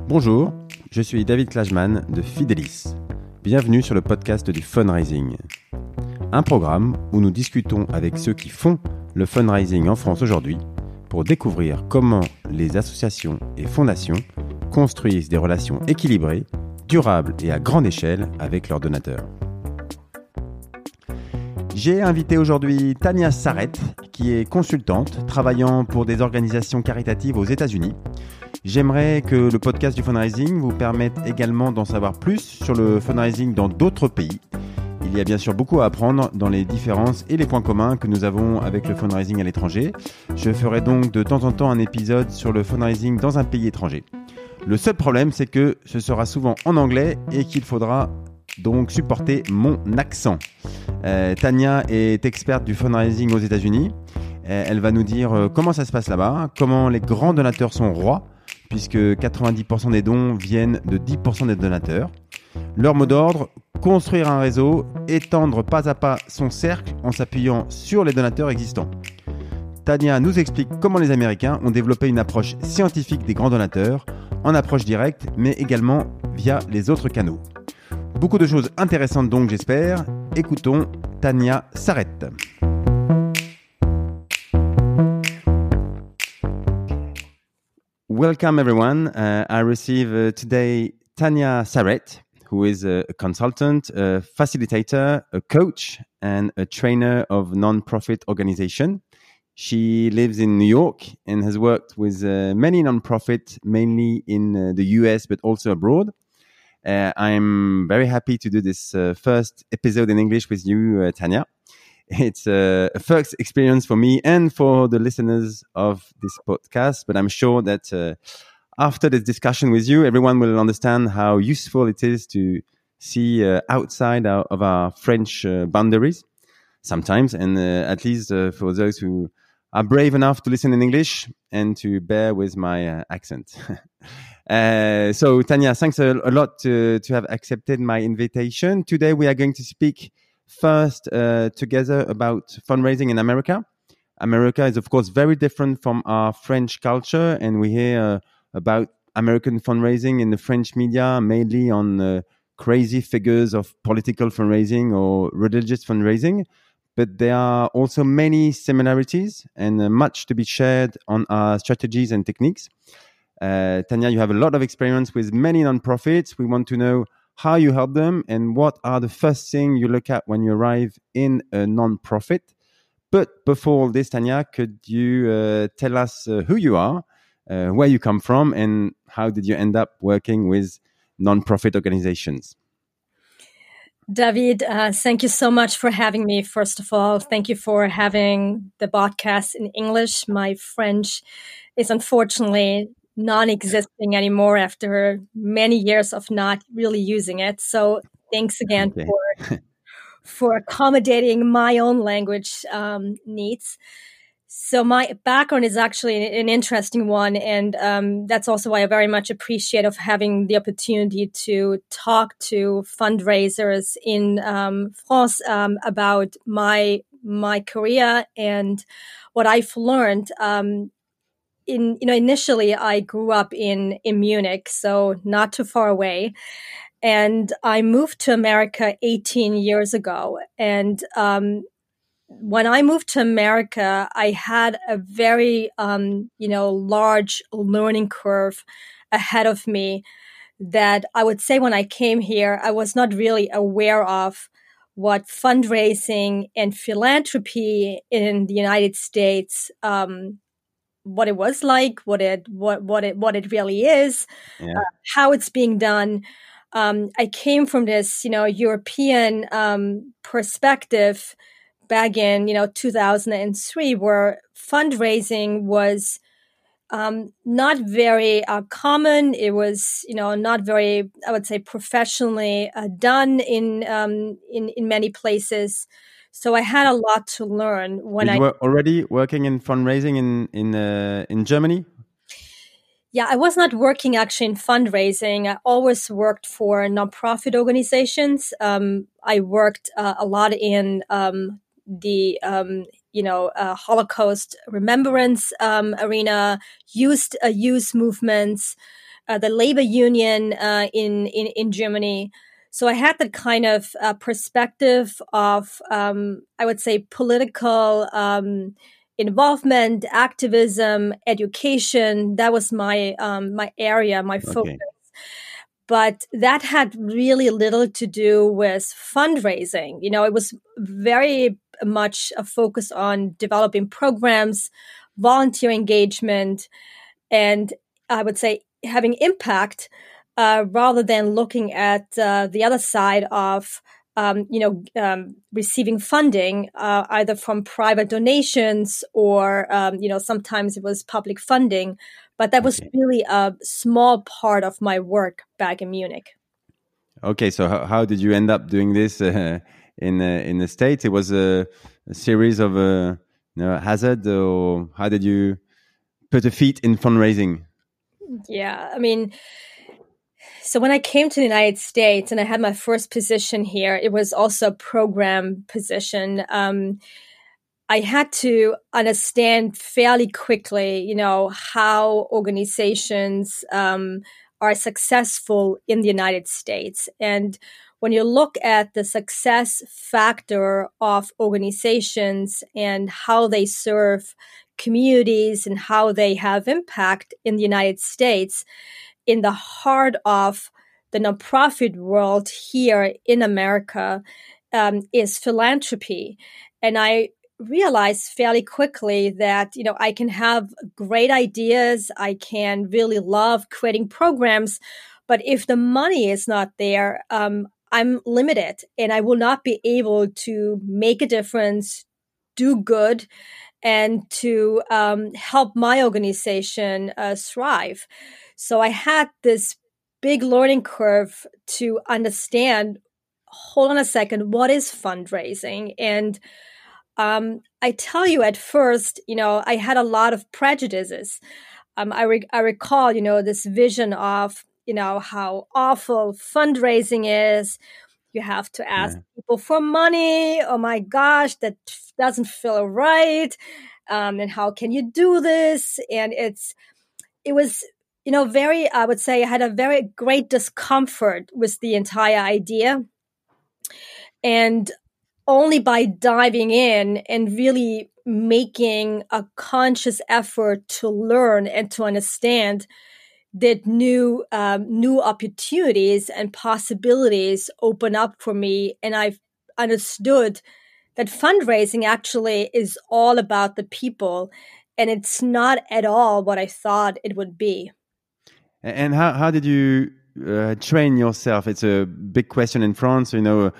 Bonjour, je suis David Klajman de Fidelis. Bienvenue sur le podcast du fundraising. Un programme où nous discutons avec ceux qui font le fundraising en France aujourd'hui pour découvrir comment les associations et fondations construisent des relations équilibrées, durables et à grande échelle avec leurs donateurs. J'ai invité aujourd'hui Tania Sarret, qui est consultante travaillant pour des organisations caritatives aux États-Unis. J'aimerais que le podcast du fundraising vous permette également d'en savoir plus sur le fundraising dans d'autres pays. Il y a bien sûr beaucoup à apprendre dans les différences et les points communs que nous avons avec le fundraising à l'étranger. Je ferai donc de temps en temps un épisode sur le fundraising dans un pays étranger. Le seul problème, c'est que ce sera souvent en anglais et qu'il faudra donc supporter mon accent. Tania est experte du fundraising aux États-Unis. Elle va nous dire comment ça se passe là-bas, comment les grands donateurs sont rois, puisque 90% des dons viennent de 10% des donateurs. Leur mot d'ordre, construire un réseau, étendre pas à pas son cercle en s'appuyant sur les donateurs existants. Tania nous explique comment les Américains ont développé une approche scientifique des grands donateurs, en approche directe, mais également via les autres canaux. Beaucoup de choses intéressantes donc, j'espère. Écoutons Tania Sarret. Welcome everyone. I receive today Tania Sarret, who is a consultant, a facilitator, a coach, and a trainer of non-profit organization. She lives in New York and has worked with many non-profit, mainly in the US, but also abroad. I'm very happy to do this first episode in English with you, Tania. It's a first experience for me and for the listeners of this podcast, but I'm sure that after this discussion with you, everyone will understand how useful it is to see outside of our French boundaries sometimes, and at least for those who are brave enough to listen in English and to bear with my accent. So Tania, thanks a lot to have accepted my invitation. Today we are going to speak first together about fundraising in America. America is of course very different from our French culture, and we hear about American fundraising in the French media mainly on crazy figures of political fundraising or religious fundraising. But there are also many similarities and much to be shared on our strategies and techniques. Tania, you have a lot of experience with many nonprofits. We want to know how you help them and what are the first things you look at when you arrive in a nonprofit. But before all this, Tania, could you tell us who you are, where you come from, and how did you end up working with nonprofit organizations? David, thank you so much for having me. First of all, thank you for having the podcast in English. My French is unfortunately non-existing anymore after many years of not really using it. So thanks again for accommodating my own language needs. So my background is actually an interesting one, and that's also why I very much appreciate of having the opportunity to talk to fundraisers in France about my career and what I've learned. Initially I grew up in Munich, so not too far away, and I moved to America 18 years ago, and when I moved to America, I had a very, large learning curve ahead of me that I would say when I came here, I was not really aware of what fundraising and philanthropy in the United States, what it was like, what it really is, how it's being done. I came from this, European perspective back in 2003, where fundraising was not very common. It was not very, I would say, professionally done in many places. So I had a lot to learn when you were already working in fundraising in Germany. Yeah, I was not working actually in fundraising. I always worked for nonprofit organizations. I worked a lot in the Holocaust remembrance arena, youth movements, the labor union in Germany. So I had that kind of perspective of, I would say, political involvement, activism, education. That was my area, my focus. Okay. But that had really little to do with fundraising. It was very much a focus on developing programs, volunteer engagement, and I would say having impact rather than looking at the other side of receiving funding either from private donations or sometimes it was public funding, but that was Okay. really a small part of my work back in Munich. Okay. So how did you end up doing this in the States? It was a series of hazard, or how did you put a feet in fundraising? Yeah, I mean, so when I came to the United States and I had my first position here, it was also a program position. I had to understand fairly quickly, how organizations are successful in the United States. And when you look at the success factor of organizations and how they serve communities and how they have impact in the United States, in the heart of the nonprofit world here in America is philanthropy. And I realized fairly quickly that, I can have great ideas. I can really love creating programs. But if the money is not there, I'm limited and I will not be able to make a difference, do good, and to help my organization thrive. So I had this big learning curve to understand, hold on a second, what is fundraising? And I tell you, at first, I had a lot of prejudices. I recall, this vision of, how awful fundraising is. You have to ask Yeah. people for money. Oh my gosh, that doesn't feel right. And how can you do this? And it was, very, I would say I had a very great discomfort with the entire idea. And only by diving in and really making a conscious effort to learn and to understand that new opportunities and possibilities open up for me. And I've understood that fundraising actually is all about the people, and it's not at all what I thought it would be. And how did you train yourself? It's a big question in France.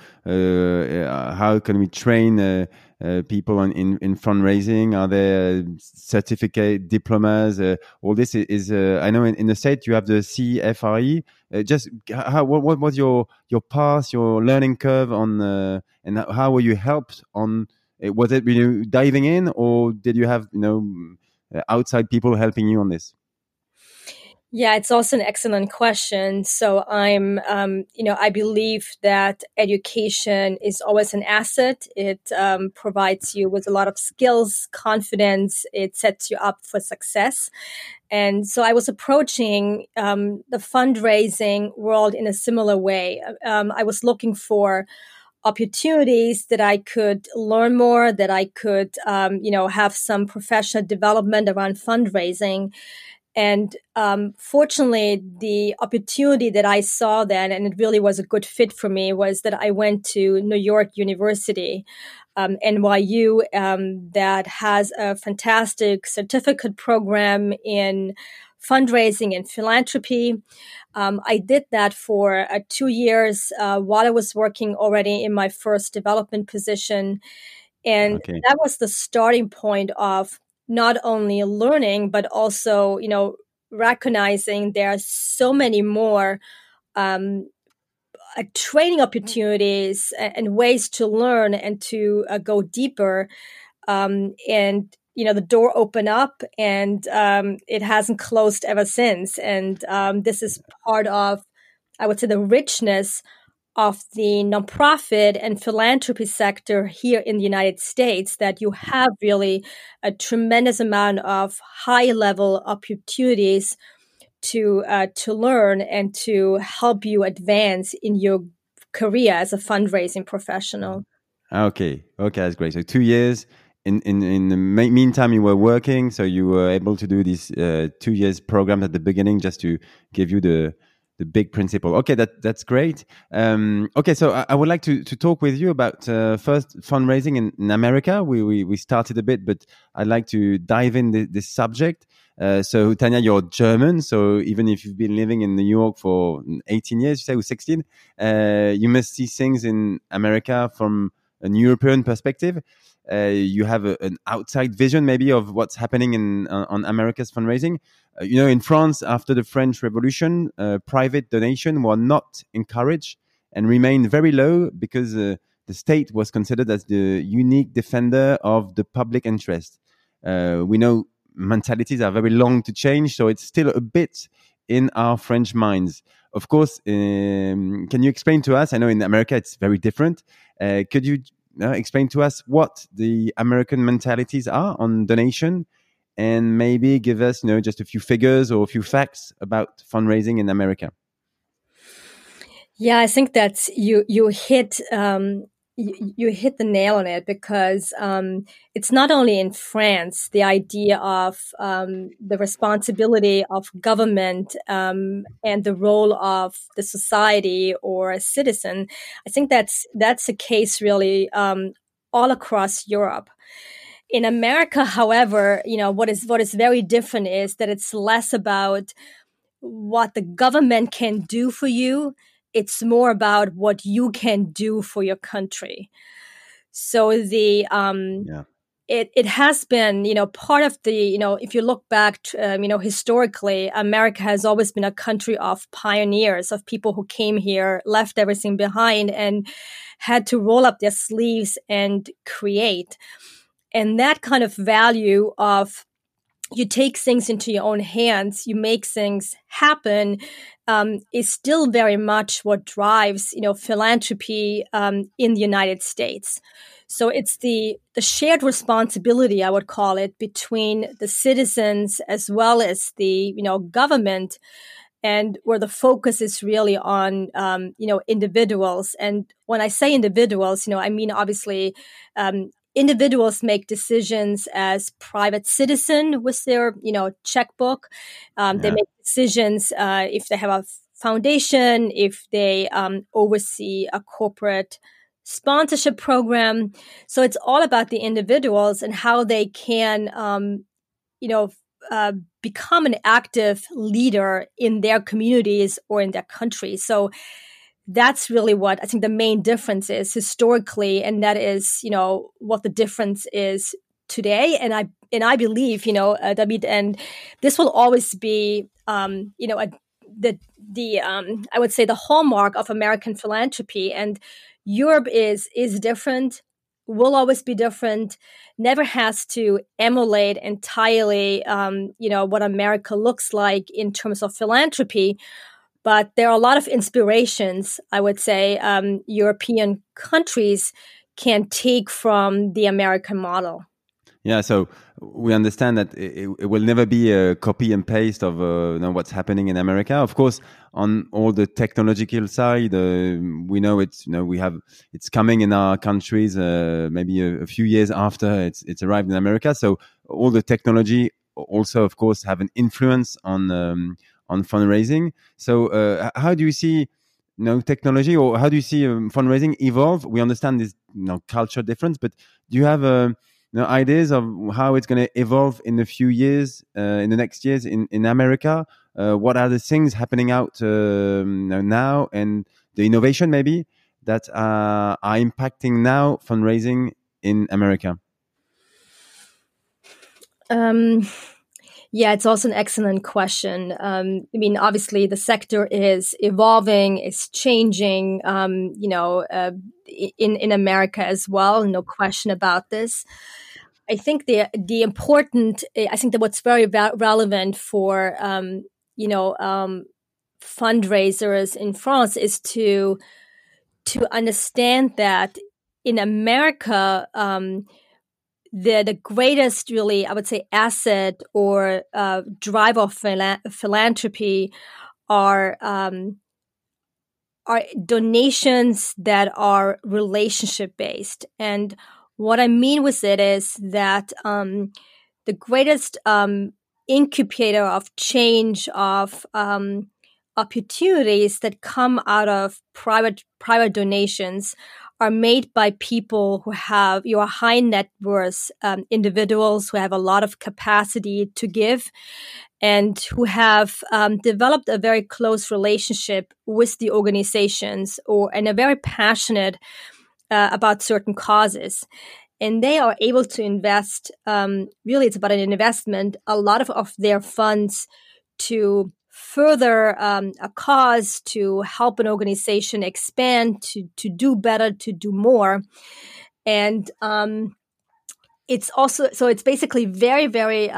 How can we train people in fundraising? Are there certificate, diplomas? All this is. I know in the States you have the CFRE. Just what was your path, your learning curve on, and how were you helped on? Was it diving in, or did you have outside people helping you on this? Yeah, it's also an excellent question. So I believe that education is always an asset. It provides you with a lot of skills, confidence. It sets you up for success. And so I was approaching the fundraising world in a similar way. I was looking for opportunities that I could learn more, that I could, have some professional development around fundraising. And fortunately, the opportunity that I saw then, and it really was a good fit for me, was that I went to New York University, NYU, that has a fantastic certificate program in fundraising and philanthropy. I did that for 2 years while I was working already in my first development position. And Okay. that was the starting point of not only learning, but also, recognizing there are so many more training opportunities and ways to learn and to go deeper. And, the door opened up and it hasn't closed ever since. And this is part of, I would say, the richness of the nonprofit and philanthropy sector here in the United States, that you have really a tremendous amount of high level opportunities to learn and to help you advance in your career as a fundraising professional. Okay, okay, that's great. So 2 years. In the meantime, you were working, so you were able to do this 2 years program at the beginning, just to give you the big principle. Okay, that's great. Okay, so I would like to talk with you about first fundraising in America. We started a bit, but I'd like to dive in this subject. So Tanya, you're German, so even if you've been living in New York for 18 years, you say, or 16, you must see things in America from an European perspective. You have an outside vision, maybe, of what's happening on America's fundraising. In France, after the French Revolution, private donation were not encouraged and remained very low because the state was considered as the unique defender of the public interest. We know mentalities are very long to change, so it's still a bit in our French minds. Of course, can you explain to us? I know in America it's very different. Could you explain to us what the American mentalities are on donation, and maybe give us, just a few figures or a few facts about fundraising in America? Yeah, I think that's you hit you hit the nail on it, because it's not only in France the idea of the responsibility of government and the role of the society or a citizen. I think that's a case really all across Europe. In America, however, what is very different is that it's less about what the government can do for you. It's more about what you can do for your country. So Yeah. it has been, part of the, if you look back, historically, America has always been a country of pioneers, of people who came here, left everything behind, and had to roll up their sleeves and create. And that kind of value of, you take things into your own hands, you make things happen, is still very much what drives, philanthropy in the United States. So it's the shared responsibility, I would call it, between the citizens as well as the, government, and where the focus is really on, individuals. And when I say individuals, I mean, obviously, individuals make decisions as private citizen with their, checkbook. They Yeah. make decisions if they have a foundation, if they oversee a corporate sponsorship program. So it's all about the individuals and how they can, become an active leader in their communities or in their country. So that's really what I think the main difference is historically, and that is, what the difference is today. And I believe, David, and this will always be, I would say the hallmark of American philanthropy. And Europe is different, will always be different, never has to emulate entirely, what America looks like in terms of philanthropy. But there are a lot of inspirations, I would say, European countries can take from the American model. Yeah, so we understand that it will never be a copy and paste of what's happening in America. Of course, on all the technological side, we know it's coming in our countries maybe a few years after it's arrived in America. So all the technology also, of course, have an influence on fundraising. So how do you see technology, or how do you see fundraising evolve? We understand this culture difference, but do you have ideas of how it's going to evolve in a few years, in the next years in America? What are the things happening out now, and the innovation maybe that are impacting now fundraising in America? Yeah, it's also an excellent question. I mean, obviously, the sector is evolving, it's changing, in America as well. No question about this. I think the important, I think that what's very relevant for, fundraisers in France is to understand that in America, the greatest, really, I would say, asset or drive of philanthropy are donations that are relationship based. And what I mean with it is that the greatest incubator of change, of opportunities that come out of private donations are made by people who have your high net worth individuals who have a lot of capacity to give and who have developed a very close relationship with the organizations and are very passionate about certain causes. And they are able to invest, really it's about an investment, a lot of their funds to further a cause, to help an organization expand, to do better, to do more. And it's also, so it's basically very, very,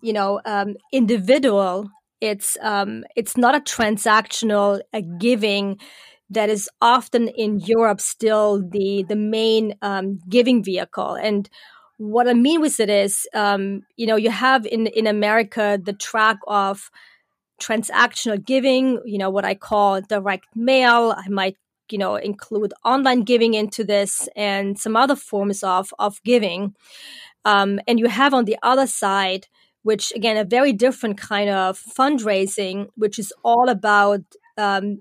individual. It's not a transactional giving that is often in Europe still the main giving vehicle. And what I mean with it is, you have in America the track of transactional giving, what I call direct mail. I might, include online giving into this and some other forms of giving. And you have on the other side, which again, a very different kind of fundraising, which is all about, a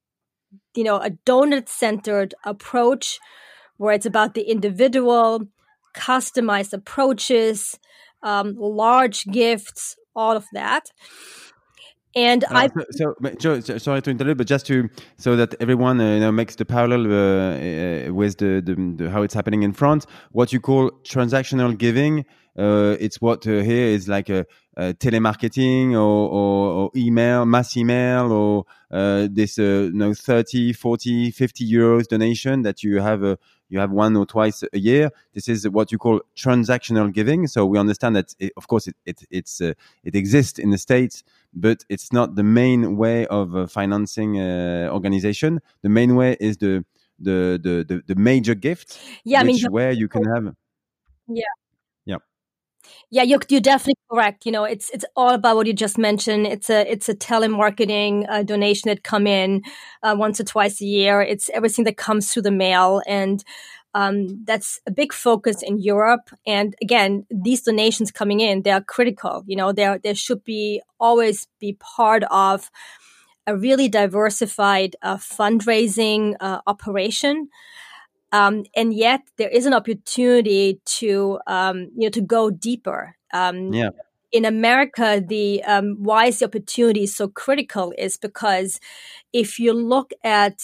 donor-centered approach where it's about the individual, customized approaches, large gifts, all of that. And sorry to interrupt, but just so that everyone makes the parallel with the how it's happening in France, what you call transactional giving, it's what here is like a telemarketing or email, mass email, or this 30, 40, 50 euros donation that you have one or twice a year. This is what you call transactional giving. So we understand that, of course, it exists in the States, but it's not the main way of financing organization. The main way is the major gift, where you can have. Yeah. Yeah. Yeah, you're definitely correct. It's all about what you just mentioned. It's a telemarketing donation that come in once or twice a year. It's everything that comes through the mail, and that's a big focus in Europe. And again, these donations coming in, they are critical. They should always be part of a really diversified fundraising operation. And yet there is an opportunity to go deeper. In America, the why is the opportunity so critical is because if you look at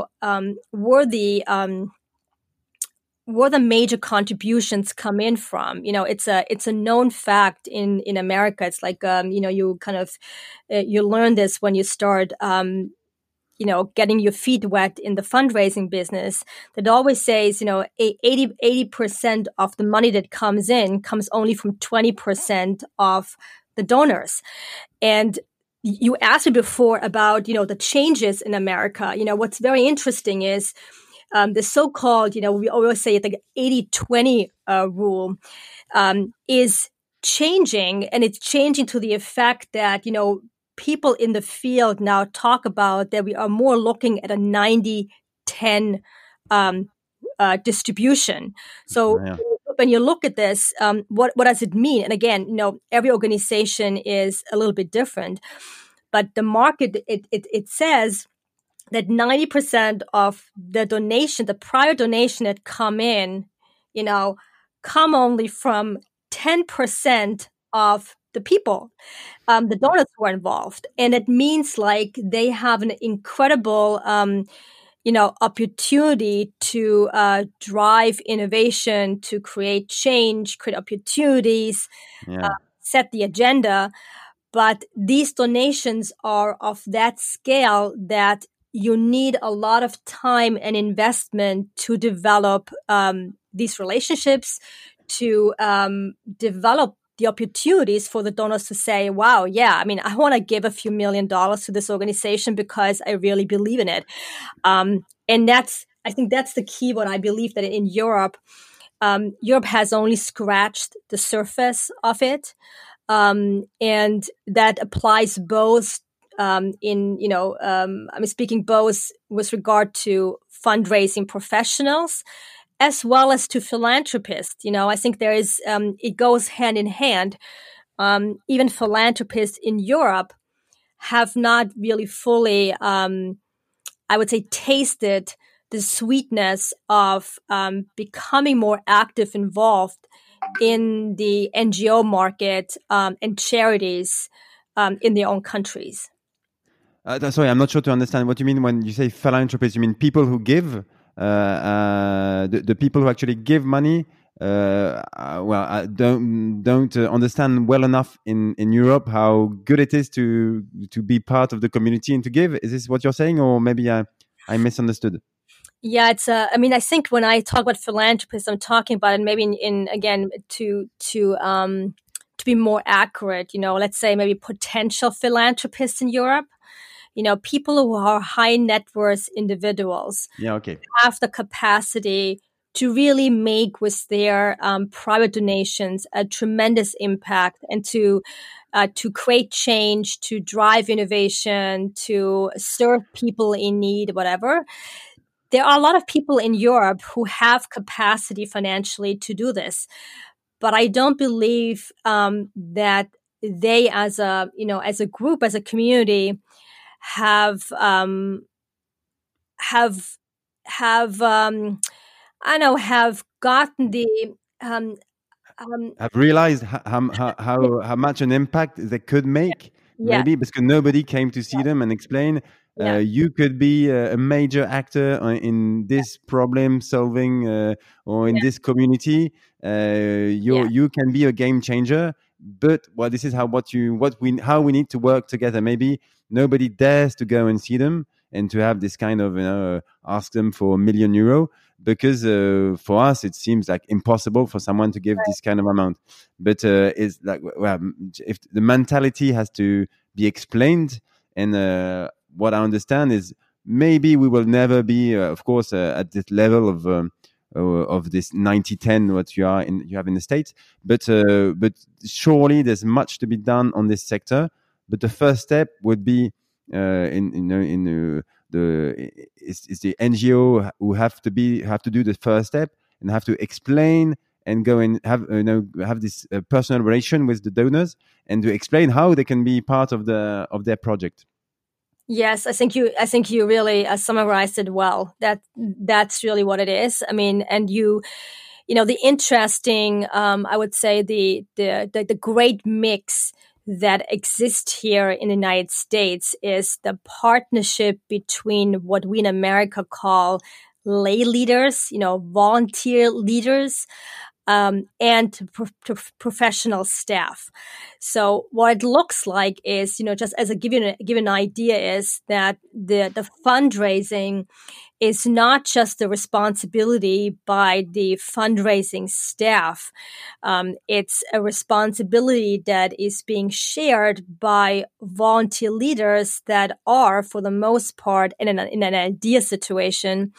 where the major contributions come in from, it's a known fact in America. It's like you kind of you learn this when you start getting your feet wet in the fundraising business, that always says, 80% of the money that comes in comes only from 20% of the donors. And you asked me before about, the changes in America. What's very interesting is the so-called, we always say the 80-20 rule is changing, and it's changing to the effect that, people in the field now talk about that we are more looking at a 90-10 distribution. So when you look at this, what does it mean? And again, every organization is a little bit different, but the market, it says that 90% of the donation, the prior donation that come in, come only from 10% of the people, the donors who are involved. And it means like they have an incredible, opportunity to drive innovation, to create change, create opportunities, set the agenda. But these donations are of that scale that you need a lot of time and investment to develop these relationships, to develop the opportunities for the donors to say, wow, I want to give a few $1 million to this organization because I really believe in it. And I think that's the key, what I believe that in Europe, Europe has only scratched the surface of it. And that applies both I'm speaking both with regard to fundraising professionals as well as to philanthropists. I think there is, it goes hand in hand. Even philanthropists in Europe have not really fully, I would say, tasted the sweetness of becoming more active, involved in the NGO market and charities in their own countries. Sorry, I'm not sure to understand what you mean when you say philanthropists. You mean people who give, the people who actually give money. I don't understand well enough in Europe how good it is to be part of the community and to give. Is this what you're saying, or maybe I misunderstood? Yeah, it's. I think when I talk about philanthropists, I'm talking about it maybe in again to be more accurate. Let's say maybe potential philanthropists in Europe. People who are high net worth individuals. Yeah. Okay. Have the capacity to really make with their private donations a tremendous impact, and to create change, to drive innovation, to serve people in need, whatever. There are a lot of people in Europe who have capacity financially to do this, but I don't believe that they, as a group, as a community, have have gotten the I've realized how much an impact they could make, yeah, maybe because nobody came to see them and explain. yeah, You could be a major actor in this problem solving or in this community. yeah. You can be a game changer. But this is how how we need to work together. Maybe nobody dares to go and see them and to have this kind of ask them for €1 million, because for us it seems like impossible for someone to give this kind of amount. But it's like, well, if the mentality has to be explained, and what I understand is maybe we will never be, of course, at this level of this 90-10 what you have in the States, but surely there's much to be done on this sector. But the first step would be it's the NGO who have to do the first step and have to explain and go and have this personal relation with the donors, and to explain how they can be part of their project. Yes, I think you really summarized it well. That's really what it is. I mean, and the interesting, I would say the great mix that exists here in the United States is the partnership between what we in America call lay leaders, volunteer leaders, and professional staff. So what it looks like is, just as give you an idea, is that the fundraising is not just the responsibility by the fundraising staff. It's a responsibility that is being shared by volunteer leaders that are, for the most part, in an idea situation,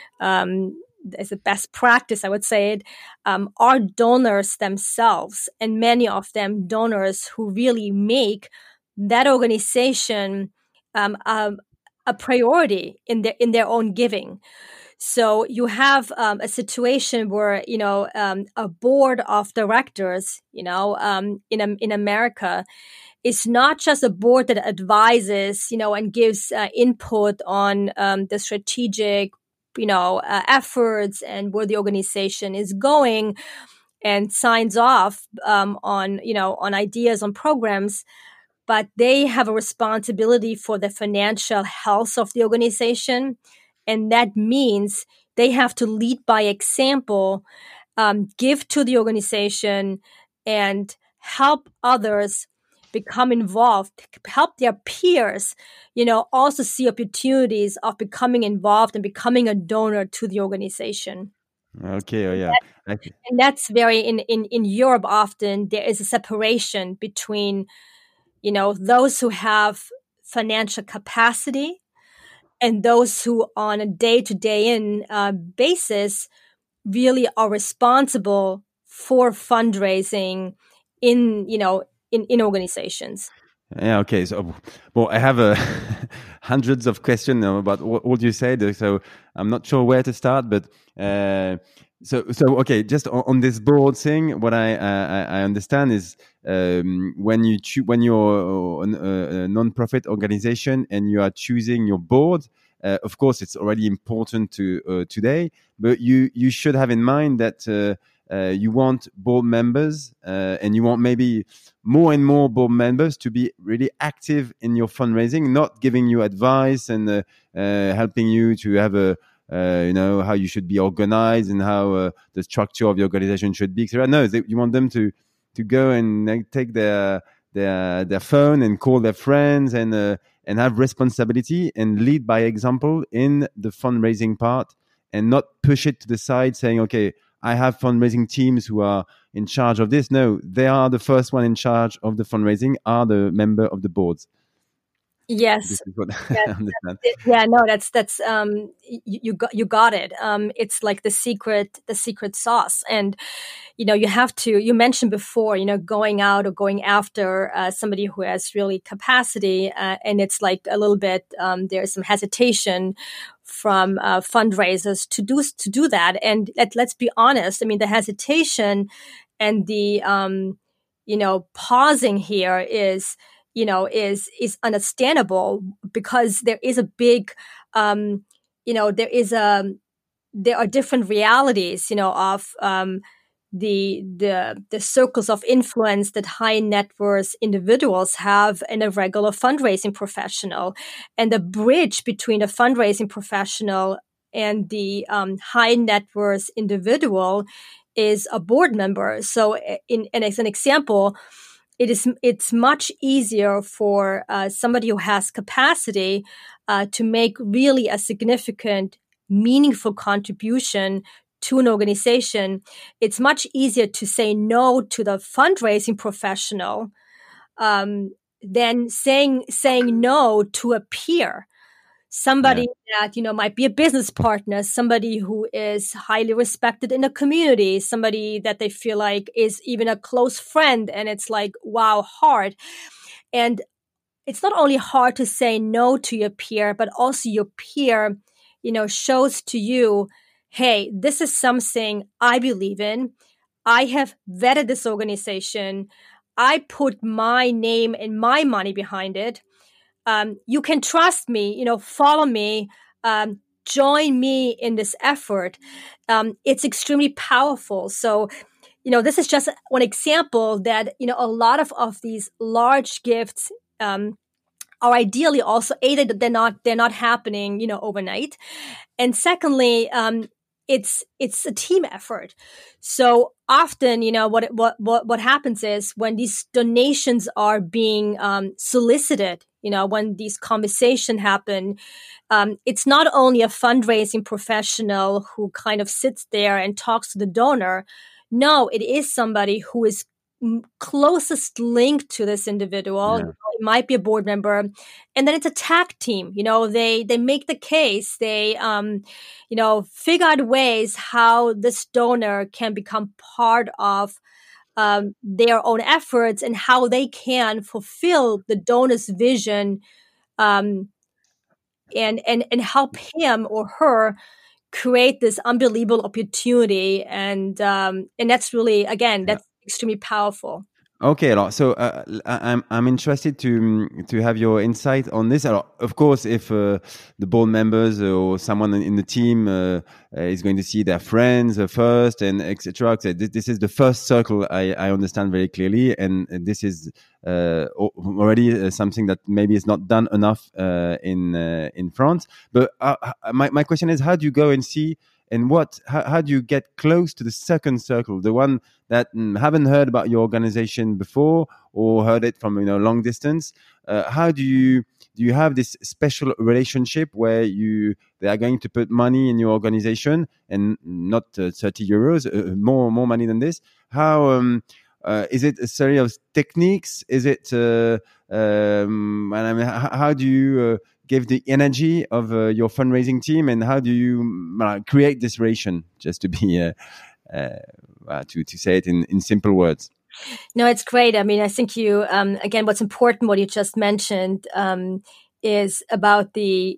as a best practice, I would say it, are donors themselves, and many of them donors who really make that organization a priority in their own giving. So you have a situation where a board of directors, in America, is not just a board that advises, and gives input on the strategic efforts and where the organization is going, and signs off on ideas, on programs, but they have a responsibility for the financial health of the organization. And that means they have to lead by example, give to the organization, and help others become involved, help their peers, also see opportunities of becoming involved and becoming a donor to the organization. Okay. Oh, yeah. And that's very, in Europe, often there is a separation between, those who have financial capacity and those who on a day-to-day basis really are responsible for fundraising in, in organizations. Yeah. Okay. So, well, I have hundreds of questions about what you said. So I'm not sure where to start, but so okay. Just on this board thing, what I understand is when you're a non-profit organization and you are choosing your board. Of course, it's already important to today, but you should have in mind that you want board members and you want maybe more and more board members to be really active in your fundraising, not giving you advice and helping you to have a how you should be organized and how the structure of your organization should be, etc. No, you want them to go and take their phone and call their friends and have responsibility and lead by example in the fundraising part and not push it to the side saying, okay, I have fundraising teams who are in charge of this. No, they are the first one in charge of the fundraising, are the member of the boards. Yes. This is what Yes, I understand. yeah, no, that's you got it. It's like the secret sauce, and you have to. You mentioned before, going out or going after somebody who has really capacity, and it's like a little bit. There's some hesitation from fundraisers to do that, and let's be honest. I mean, the hesitation and the pausing here is understandable because there is a big, there are different realities, of the circles of influence that high net worth individuals have in a regular fundraising professional, and the bridge between a fundraising professional and the high net worth individual is a board member. So, and as an example, it's much easier for somebody who has capacity to make really a significant, meaningful contribution to an organization. It's much easier to say no to the fundraising professional than saying no to a peer. Somebody that, might be a business partner, somebody who is highly respected in the community, somebody that they feel like is even a close friend. And it's like, wow, hard. And it's not only hard to say no to your peer, but also your peer, shows to you, hey, this is something I believe in. I have vetted this organization. I put my name and my money behind it. You can trust me, follow me, join me in this effort. It's extremely powerful. So, this is just one example that, a lot of these large gifts, are ideally also that they're not happening, overnight. And secondly, it's a team effort. So often, what happens is when these donations are being solicited, when these conversations happen, it's not only a fundraising professional who kind of sits there and talks to the donor. No, it is somebody who is closest linked to this individual. Yeah. It might be a board member, and then it's a tag team. They make the case. They figure out ways how this donor can become part of their own efforts and how they can fulfill the donor's vision, and help him or her create this unbelievable opportunity. And that's really, again, that's extremely powerful. Okay, so I'm interested to have your insight on this. Of course, if the board members or someone in the team is going to see their friends first and etc. This is the first circle I understand very clearly, and this is already something that maybe is not done enough in France. But my question is, how do you go and see? And how do you get close to the second circle, the one that haven't heard about your organization before or heard it from long distance? How do you have this special relationship where they are going to put money in your organization and not 30 euros, more money than this? How is it a series of techniques? Is it and I mean, how do you give the energy of your fundraising team, and how do you create this relation? Just to be to say it in simple words. No, it's great. I mean, I think you again, what's important, what you just mentioned, is about the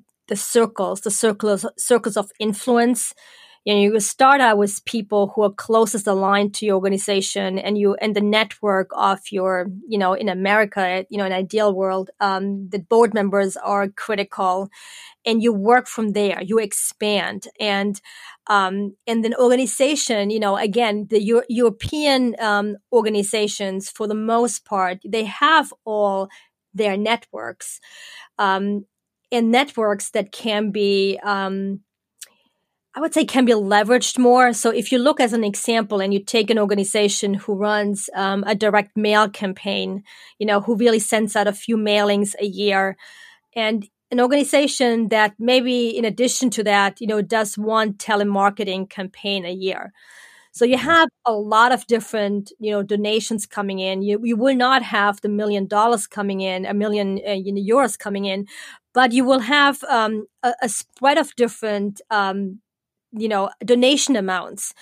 circles of influence. You start out with people who are closest aligned to your organization, and the network of your, in America, in an ideal world, the board members are critical, and you work from there. You expand, and then organization. Again, the European organizations, for the most part, they have all their networks, and networks that can be. I would say can be leveraged more. So if you look as an example and you take an organization who runs a direct mail campaign, who really sends out a few mailings a year, and an organization that maybe in addition to that, does one telemarketing campaign a year. So you have a lot of different, donations coming in. You will not have the $1 million coming in, $1 million euros coming in, but you will have a spread of different donation amounts,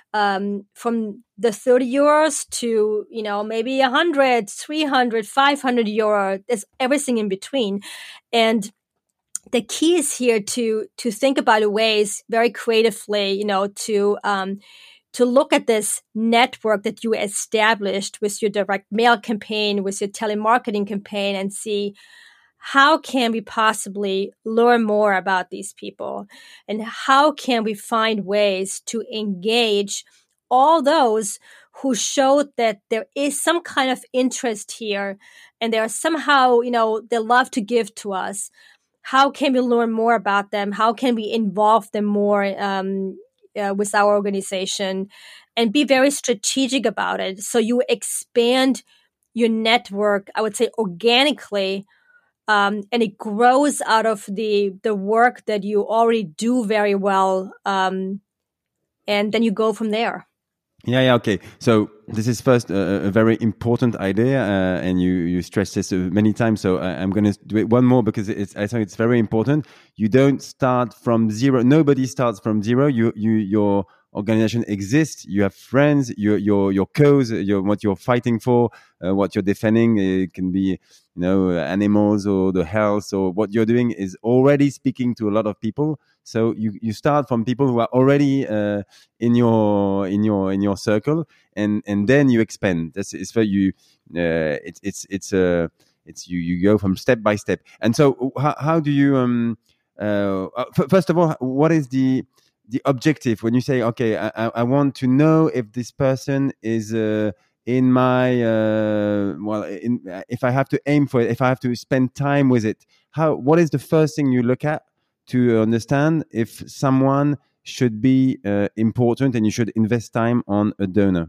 from the 30 euros to, maybe 100, 300, 500 euro. There's everything in between. And the key is here to think about ways very creatively, to look at this network that you established with your direct mail campaign, with your telemarketing campaign, and see, how can we possibly learn more about these people? And how can we find ways to engage all those who showed that there is some kind of interest here, and they are somehow, they love to give to us? How can we learn more about them? How can we involve them more with our organization, and be very strategic about it? So you expand your network, I would say, organically, and it grows out of the work that you already do very well, and then you go from there. Yeah, okay. So this is first a very important idea, and you stress this many times. So I'm going to do it one more because I think it's very important. You don't start from zero. Nobody starts from zero. Your organization exists. You have friends. Your cause. What you're fighting for. What you're defending. It can be animals or the health, or what you're doing is already speaking to a lot of people. So you start from people who are already in your circle, and then you expand. It's for you. It's you go from step by step. And so how do you first of all, what is the objective when you say, okay, I want to know if this person is in my if I have to aim for it, if I have to spend time with it, what is the first thing you look at to understand if someone should be important and you should invest time on a donor?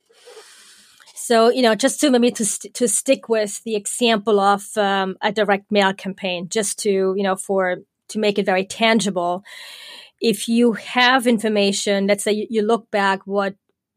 So, just to maybe to stick with the example of a direct mail campaign, just to, to make it very tangible. If you have information, let's say you look back what,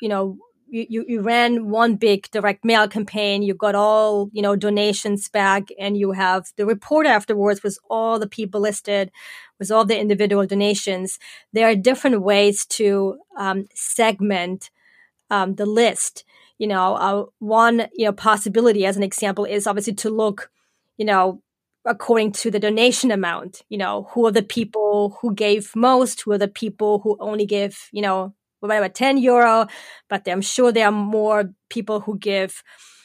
you ran one big direct mail campaign, you got all, donations back, and you have the report afterwards with all the people listed, with all the individual donations. There are different ways to segment the list. One, possibility as an example is obviously to look, according to the donation amount, who are the people who gave most, who are the people who only give, whatever, 10 euro, but I'm sure there are more people who give,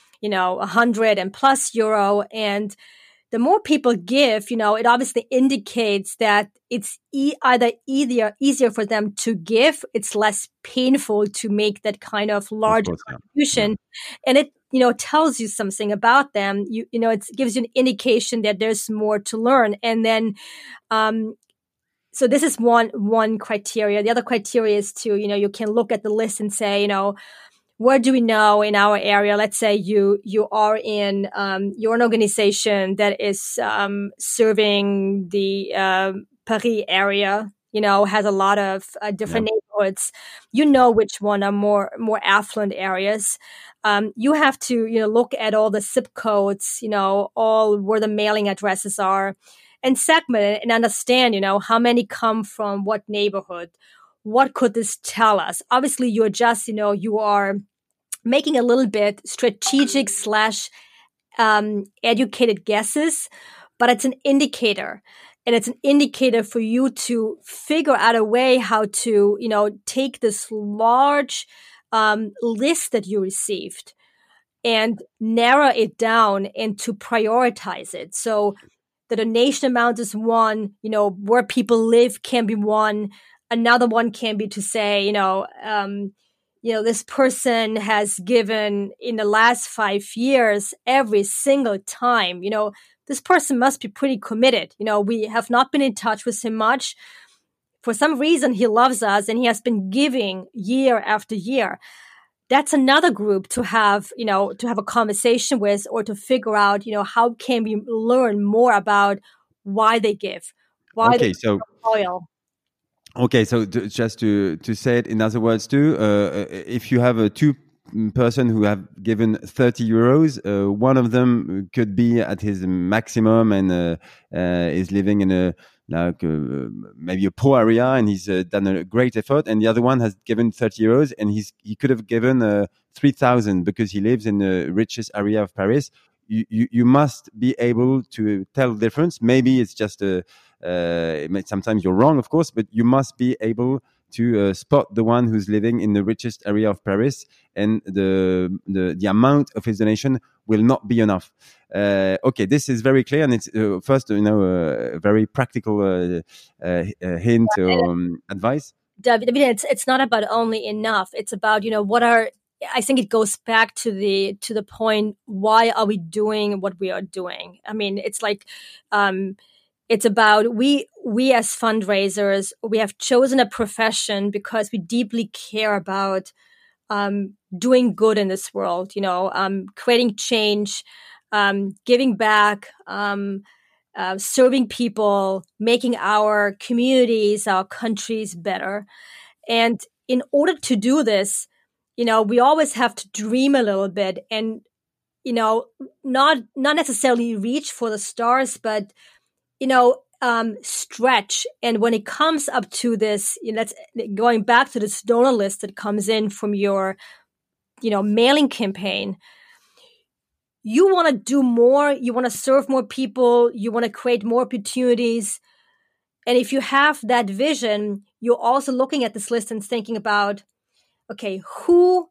100 and plus euro. And the more people give, it obviously indicates that it's either easier for them to give. It's less painful to make that kind of large contribution. Yeah. And it, tells you something about them. It gives you an indication that there's more to learn. And then, so this is one criteria. The other criteria is to, you can look at the list and say, where do we know in our area? Let's say you are in, you're an organization that is serving the Paris area, has a lot of different neighborhoods. Which one are more affluent areas. You have to, look at all the zip codes, all where the mailing addresses are. and segment it and understand, how many come from what neighborhood. What could this tell us? Obviously, you're just, you are making a little bit strategic slash educated guesses, but it's an indicator. And it's an indicator for you to figure out a way how to, take this large list that you received and narrow it down and to prioritize it. So the donation amount is one, where people live can be one. Another one can be to say, this person has given in the last 5 years every single time. This person must be pretty committed. We have not been in touch with him much. For some reason, he loves us and he has been giving year after year. That's another group to have, a conversation with, or to figure out, how can we learn more about why they give, why Okay, they so loyal. okay, so just to say it in other words too, if you have a two person who have given 30 euros, one of them could be at his maximum and is living in a maybe a poor area and he's done a great effort, and the other one has given 30 euros and he could have given 3,000 because he lives in the richest area of Paris. You must be able to tell the difference. Maybe it's just sometimes you're wrong, of course, but you must be able to spot the one who's living in the richest area of Paris, and the amount of his donation will not be enough. Okay, this is very clear, and it's first, a very practical hint advice. David, it's not about only enough. It's about, I think it goes back to the point, why are we doing what we are doing? I mean, it's like, it's about we as fundraisers, we have chosen a profession because we deeply care about doing good in this world, creating change, giving back, serving people, making our communities, our countries better. And in order to do this, we always have to dream a little bit and, not necessarily reach for the stars, but stretch. And when it comes up to this, going back to this donor list that comes in from your, mailing campaign, you want to do more, you want to serve more people, you want to create more opportunities. And if you have that vision, you're also looking at this list and thinking about, okay, who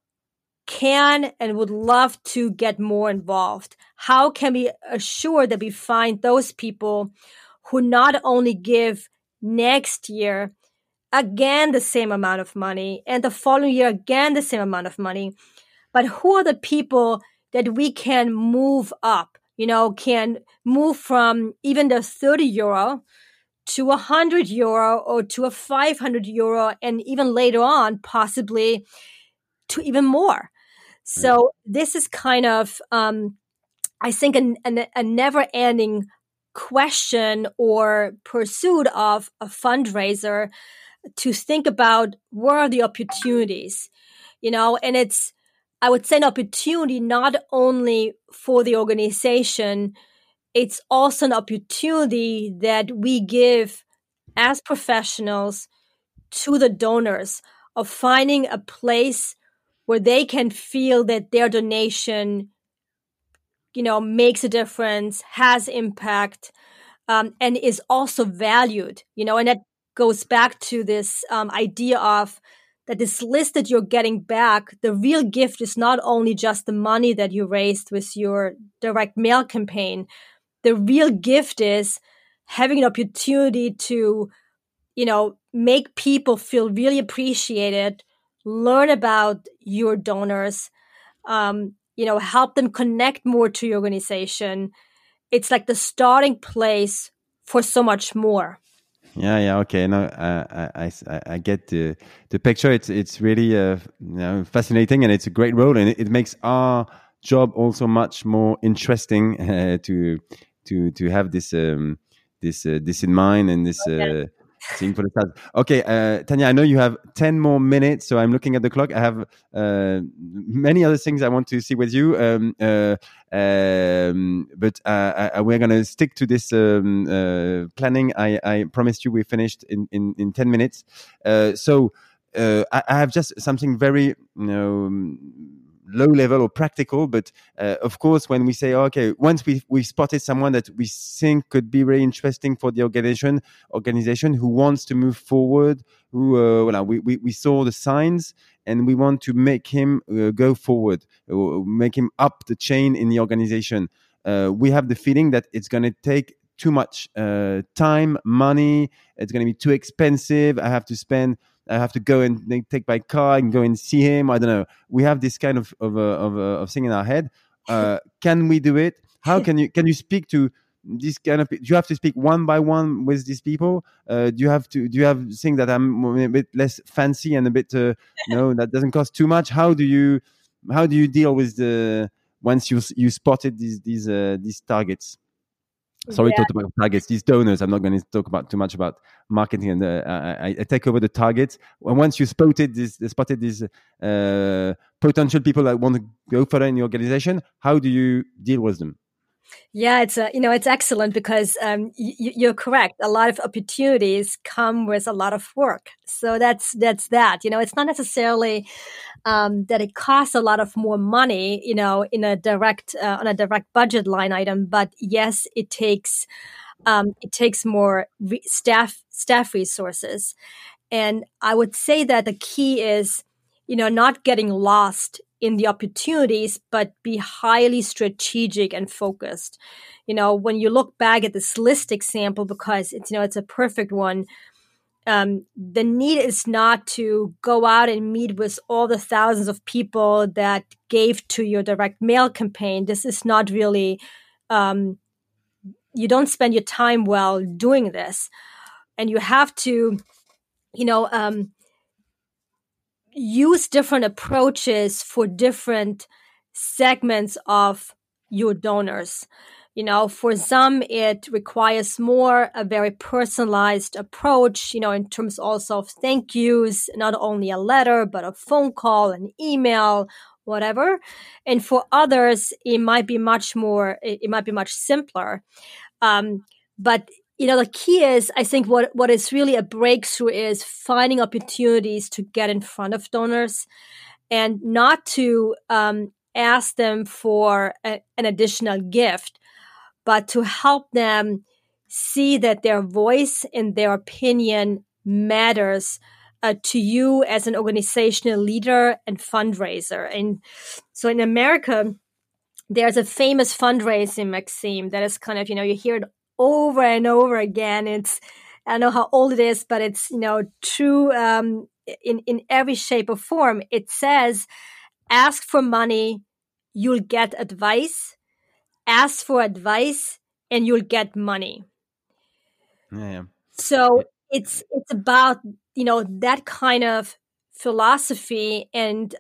can and would love to get more involved? How can we assure that we find those people who not only give next year again the same amount of money and the following year again the same amount of money, but who are the people that we can move up, can move from even the 30 euro to 100 euro or to a 500 euro, and even later on, possibly to even more. So this is kind of, I think, a never-ending question or pursuit of a fundraiser to think about where are the opportunities, and it's, I would say, an opportunity not only for the organization, it's also an opportunity that we give as professionals to the donors of finding a place where they can feel that their donation, makes a difference, has impact, and is also valued, and that goes back to this idea of that this list that you're getting back, the real gift is not only just the money that you raised with your direct mail campaign. The real gift is having an opportunity to, make people feel really appreciated, learn about your donors, help them connect more to your organization. It's like the starting place for so much more. Yeah, okay. No, I get the picture. It's really fascinating, and it's a great role, and it makes our job also much more interesting to have this this in mind, and this Seeing for the stars. Okay, Tanya, I know you have 10 more minutes, so I'm looking at the clock. I have many other things I want to see with you, but we're going to stick to this planning. I promised you we finished in 10 minutes. I have just something very, low level or practical, but of course, when we say, okay, once we spotted someone that we think could be very interesting for the organization who wants to move forward, who we saw the signs and we want to make him go forward, make him up the chain in the organization. We have the feeling that it's going to take too much time, money. It's going to be too expensive. I have to go and take my car and go and see him. I don't know. We have this kind of thing in our head. Can we do it? How can you speak to this kind of? Do you have to speak one by one with these people? Do you have things that I'm a bit less fancy and a bit that doesn't cost too much? How do you deal with the once you spotted these targets? Sorry to talk about targets, these donors. I'm not going to talk about too much about marketing, and I take over the targets. Once you spotted these potential people that want to go further in the organization, how do you deal with them? Yeah, it's excellent because you're correct. A lot of opportunities come with a lot of work. So that's that. It's not necessarily that it costs a lot of more money, in a direct on a direct budget line item. But yes, it takes more staff resources, and I would say that the key is, not getting lost in the opportunities, but be highly strategic and focused. When you look back at this list example, because it's a perfect one, the need is not to go out and meet with all the thousands of people that gave to your direct mail campaign. This is not really, you don't spend your time well doing this. And you have to, use different approaches for different segments of your donors. For some, it requires more a very personalized approach, in terms also of thank yous, not only a letter, but a phone call, an email, whatever. And for others, it might be much simpler. But the key is, I think what is really a breakthrough is finding opportunities to get in front of donors and not to ask them for an additional gift, but to help them see that their voice and their opinion matters to you as an organizational leader and fundraiser. And so in America, there's a famous fundraising maxim that is kind of, you hear it over and over again. I don't know how old it is, but it's, true in every shape or form. It says, ask for money, you'll get advice. Ask for advice and you'll get money. Yeah. So it's about, that kind of philosophy and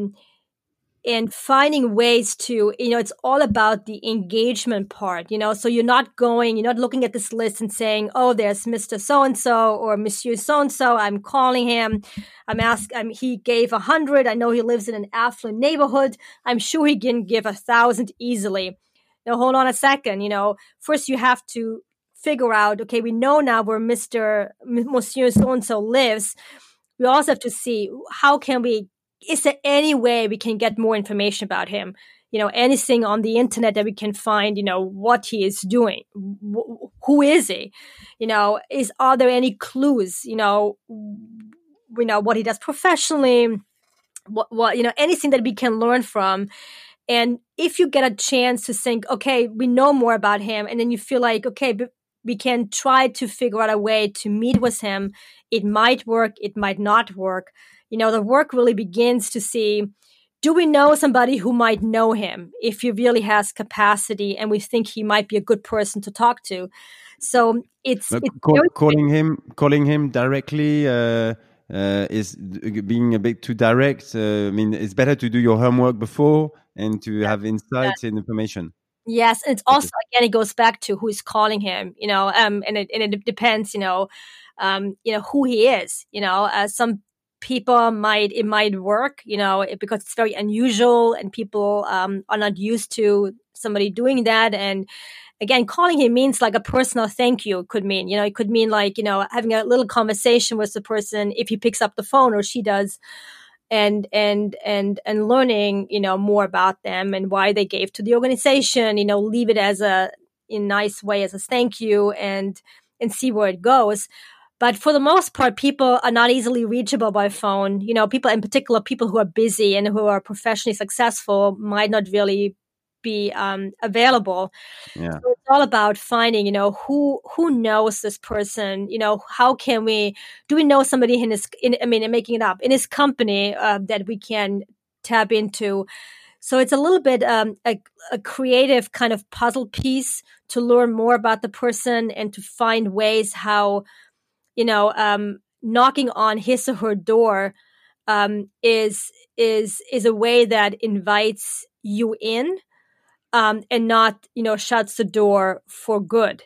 finding ways to, it's all about the engagement part, so you're not looking at this list and saying, oh, there's Mr. So-and-so or Monsieur So-and-so. I'm calling him. He gave 100. I know he lives in an affluent neighborhood. I'm sure he can give 1,000 easily. Now, hold on a second. First you have to figure out, okay, we know now where Monsieur So-and-so lives. We also have to see is there any way we can get more information about him? Anything on the internet that we can find, what he is doing. Who is he? Are there any clues, what he does professionally, what anything that we can learn from. And if you get a chance to think, okay, we know more about him, and then you feel like, okay, we can try to figure out a way to meet with him. It might work. It might not work. The work really begins to see, do we know somebody who might know him if he really has capacity and we think he might be a good person to talk to? So calling him directly is being a bit too direct. It's better to do your homework before and to have insights and information. Yes, and it's also, again, it goes back to who is calling him, and it depends, who he is. Some people it might work, because it's very unusual and people are not used to somebody doing that. And again, calling him means like a personal thank you. It could mean, it could mean like, having a little conversation with the person if he picks up the phone or she does, and learning, more about them and why they gave to the organization, leave it as in a nice way as a thank you, and see where it goes. But for the most part, people are not easily reachable by phone. People in particular, people who are busy and who are professionally successful might not really be available. Yeah. So it's all about finding, who knows this person. How can do we know somebody I'm making it up, in his company that we can tap into. So it's a little bit a creative kind of puzzle piece to learn more about the person and to find ways how, knocking on his or her door is a way that invites you in, and not, shuts the door for good.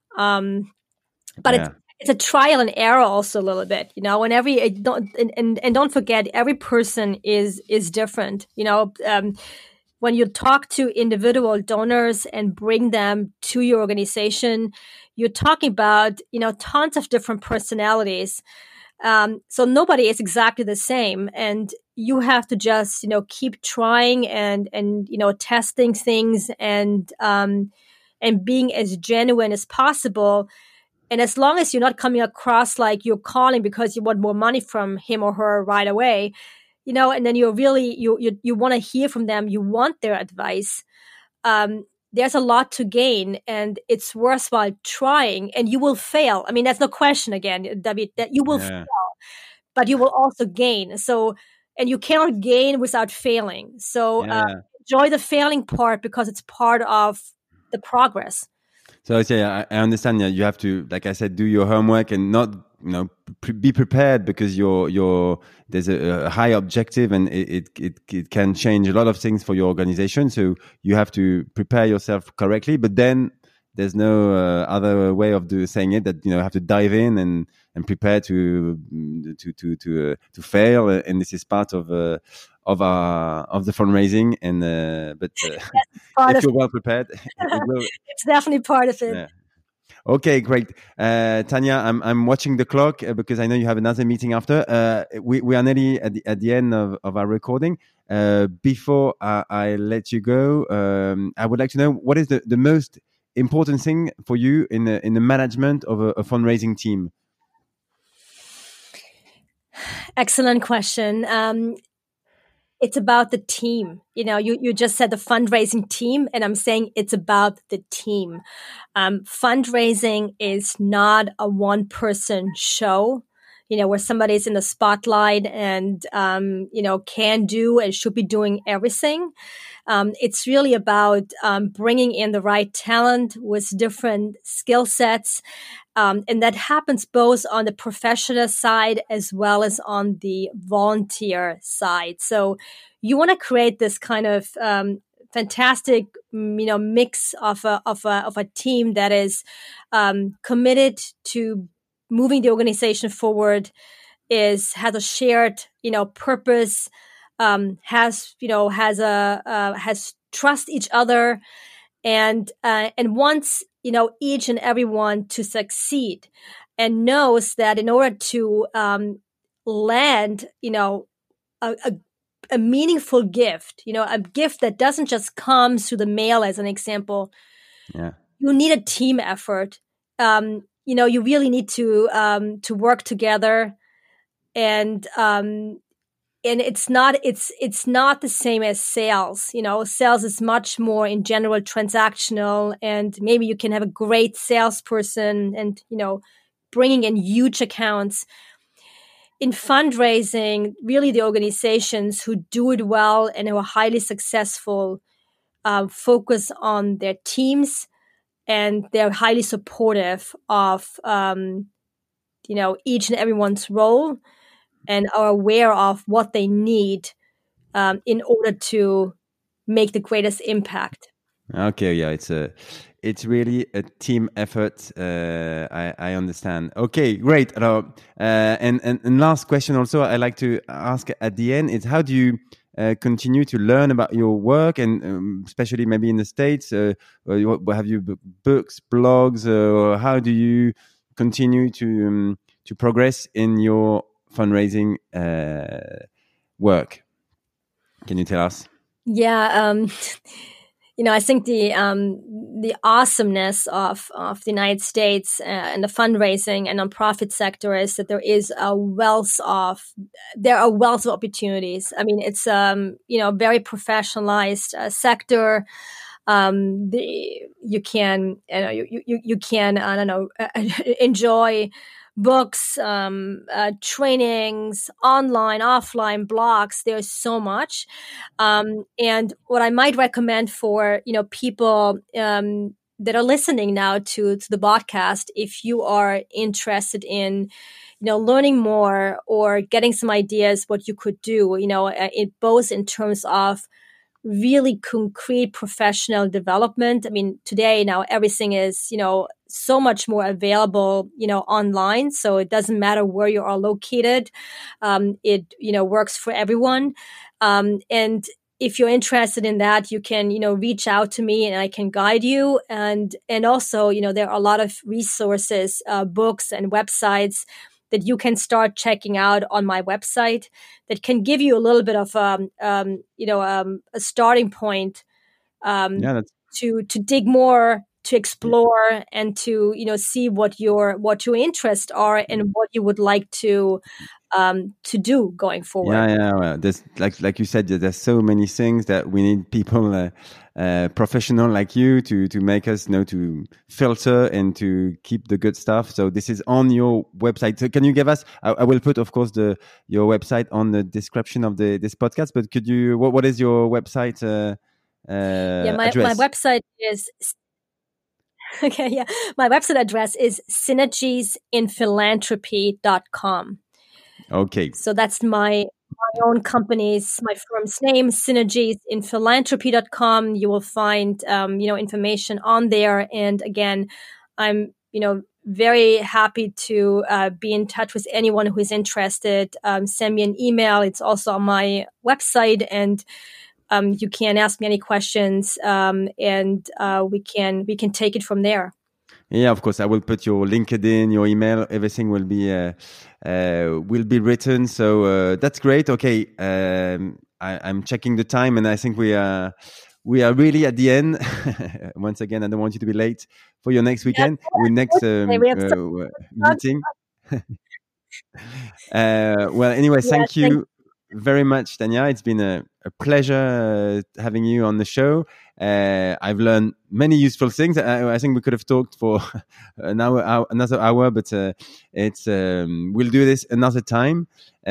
But Yeah. it's a trial and error also a little bit, and don't forget, every person is different. When you talk to individual donors and bring them to your organization, you're talking about, tons of different personalities. So nobody is exactly the same, and you have to just, keep trying and testing things, and being as genuine as possible. And as long as you're not coming across like you're calling because you want more money from him or her right away, and then you're really, you want to hear from them, you want their advice. There's a lot to gain, and it's worthwhile trying, and you will fail. I mean, that's no question, again, David, that you will fail, but you will also gain. So, and you cannot gain without failing. So enjoy the failing part, because it's part of the progress. So yeah, I understand. Yeah, you have to, like I said, do your homework and not, be prepared, because there's a high objective, and it can change a lot of things for your organization. So you have to prepare yourself correctly. But then there's no other way of saying it, that have to dive in and prepare to fail. And this is part of the fundraising. And but if you're well prepared, it will. It's definitely part of it. Yeah. Okay, great. Tanya, I'm watching the clock because I know you have another meeting after. We are nearly at the end of our recording. Before I let you go, I would like to know, what is the most important thing for you in the management of a fundraising team? Excellent question. It's about the team. You just said the fundraising team, and I'm saying it's about the team. Fundraising is not a one-person show, where somebody's in the spotlight and, can do and should be doing everything. It's really about bringing in the right talent with different skill sets. And that happens both on the professional side as well as on the volunteer side. So you want to create this kind of fantastic, mix of a team that is committed to moving the organization forward, has a shared, purpose, has trust each other, and wants, each and everyone to succeed, and knows that in order to land, a meaningful gift, a gift that doesn't just come through the mail, as an example. Yeah. You need a team effort. You really need to work together, and it's not the same as sales. Sales is much more in general transactional, and maybe you can have a great salesperson and, bringing in huge accounts. In fundraising, really the organizations who do it well and who are highly successful focus on their teams, and they're highly supportive of, each and everyone's role, and are aware of what they need in order to make the greatest impact. Okay, yeah, it's really a team effort. I understand. Okay, great. And last question also I like to ask at the end is how do you continue to learn about your work and especially maybe in the States? Have you books, blogs, or how do you continue to progress in your fundraising work? Can you tell us? Yeah, I think the awesomeness of the United States and the fundraising and nonprofit sector is that there are wealth of opportunities. I mean, it's very professionalized sector. You can I don't know enjoy books, trainings, online, offline, blogs. There's so much. And what I might recommend for, people that are listening now to the podcast, if you are interested in, learning more or getting some ideas what you could do, both in terms of really concrete professional development. I mean, today now everything is, so much more available, online. So it doesn't matter where you are located. It, works for everyone. And if you're interested in that, you can, reach out to me and I can guide you. And also, there are a lot of resources, books and websites that you can start checking out on my website that can give you a little bit of, a starting point, to dig more, to explore, and to see what your interests are and what you would like to do going forward. Yeah. Well, there's like you said, there's so many things that we need people professional like you to make us know to filter and to keep the good stuff. So this is on your website. So can you give us? I will put, of course, your website on the description of this podcast. But could you? What is your website? My website is. Okay, yeah. My website address is synergiesinphilanthropy.com. Okay. So that's my own company's, my firm's name, synergiesinphilanthropy.com. You will find, information on there. And again, I'm, very happy to be in touch with anyone who is interested. Send me an email. It's also on my website, and you can ask me any questions, and we can take it from there. Yeah, of course. I will put your LinkedIn, your email, everything will be written. So that's great. Okay, I'm checking the time, and I think we are really at the end. Once again, I don't want you to be late for your next weekend, your next meeting. Well, anyway, thank you very much, Tanya. It's been a pleasure having you on the show. I've learned many useful things. I think we could have talked for another hour, but we'll do this another time.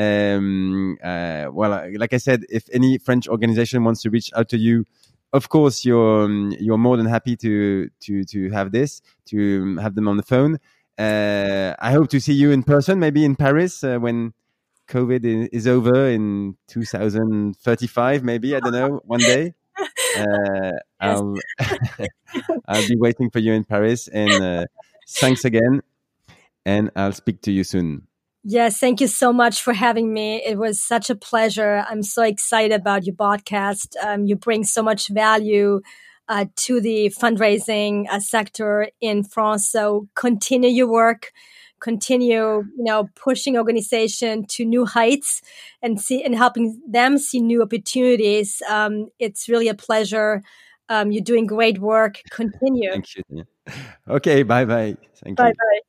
Well, like I said, if any French organization wants to reach out to you, of course, you're more than happy to have them on the phone. I hope to see you in person, maybe in Paris when COVID is over in 2035, maybe. I don't know, one day. I'll be waiting for you in Paris. And thanks again. And I'll speak to you soon. Yes, thank you so much for having me. It was such a pleasure. I'm so excited about your podcast. You bring so much value to the fundraising sector in France. So continue your work. Continue, pushing organization to new heights and helping them see new opportunities. It's really a pleasure. You're doing great work. Continue. Thank you. Okay, bye-bye. Thank you. Bye-bye.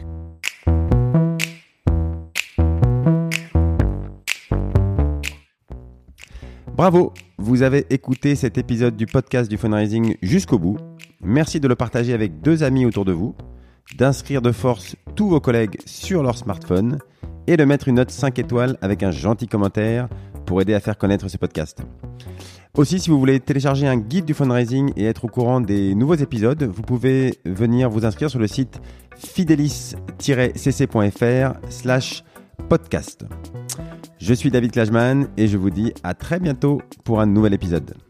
Bravo, vous avez écouté cet épisode du podcast du fundraising jusqu'au bout. Merci de le partager avec 2 amis autour de vous, d'inscrire de force tous vos collègues sur leur smartphone et de mettre une note 5 étoiles avec un gentil commentaire pour aider à faire connaître ce podcast. Aussi, si vous voulez télécharger un guide du fundraising et être au courant des nouveaux épisodes, vous pouvez venir vous inscrire sur le site fidelis-cc.fr/podcast. Je suis David Klajman et je vous dis à très bientôt pour un nouvel épisode.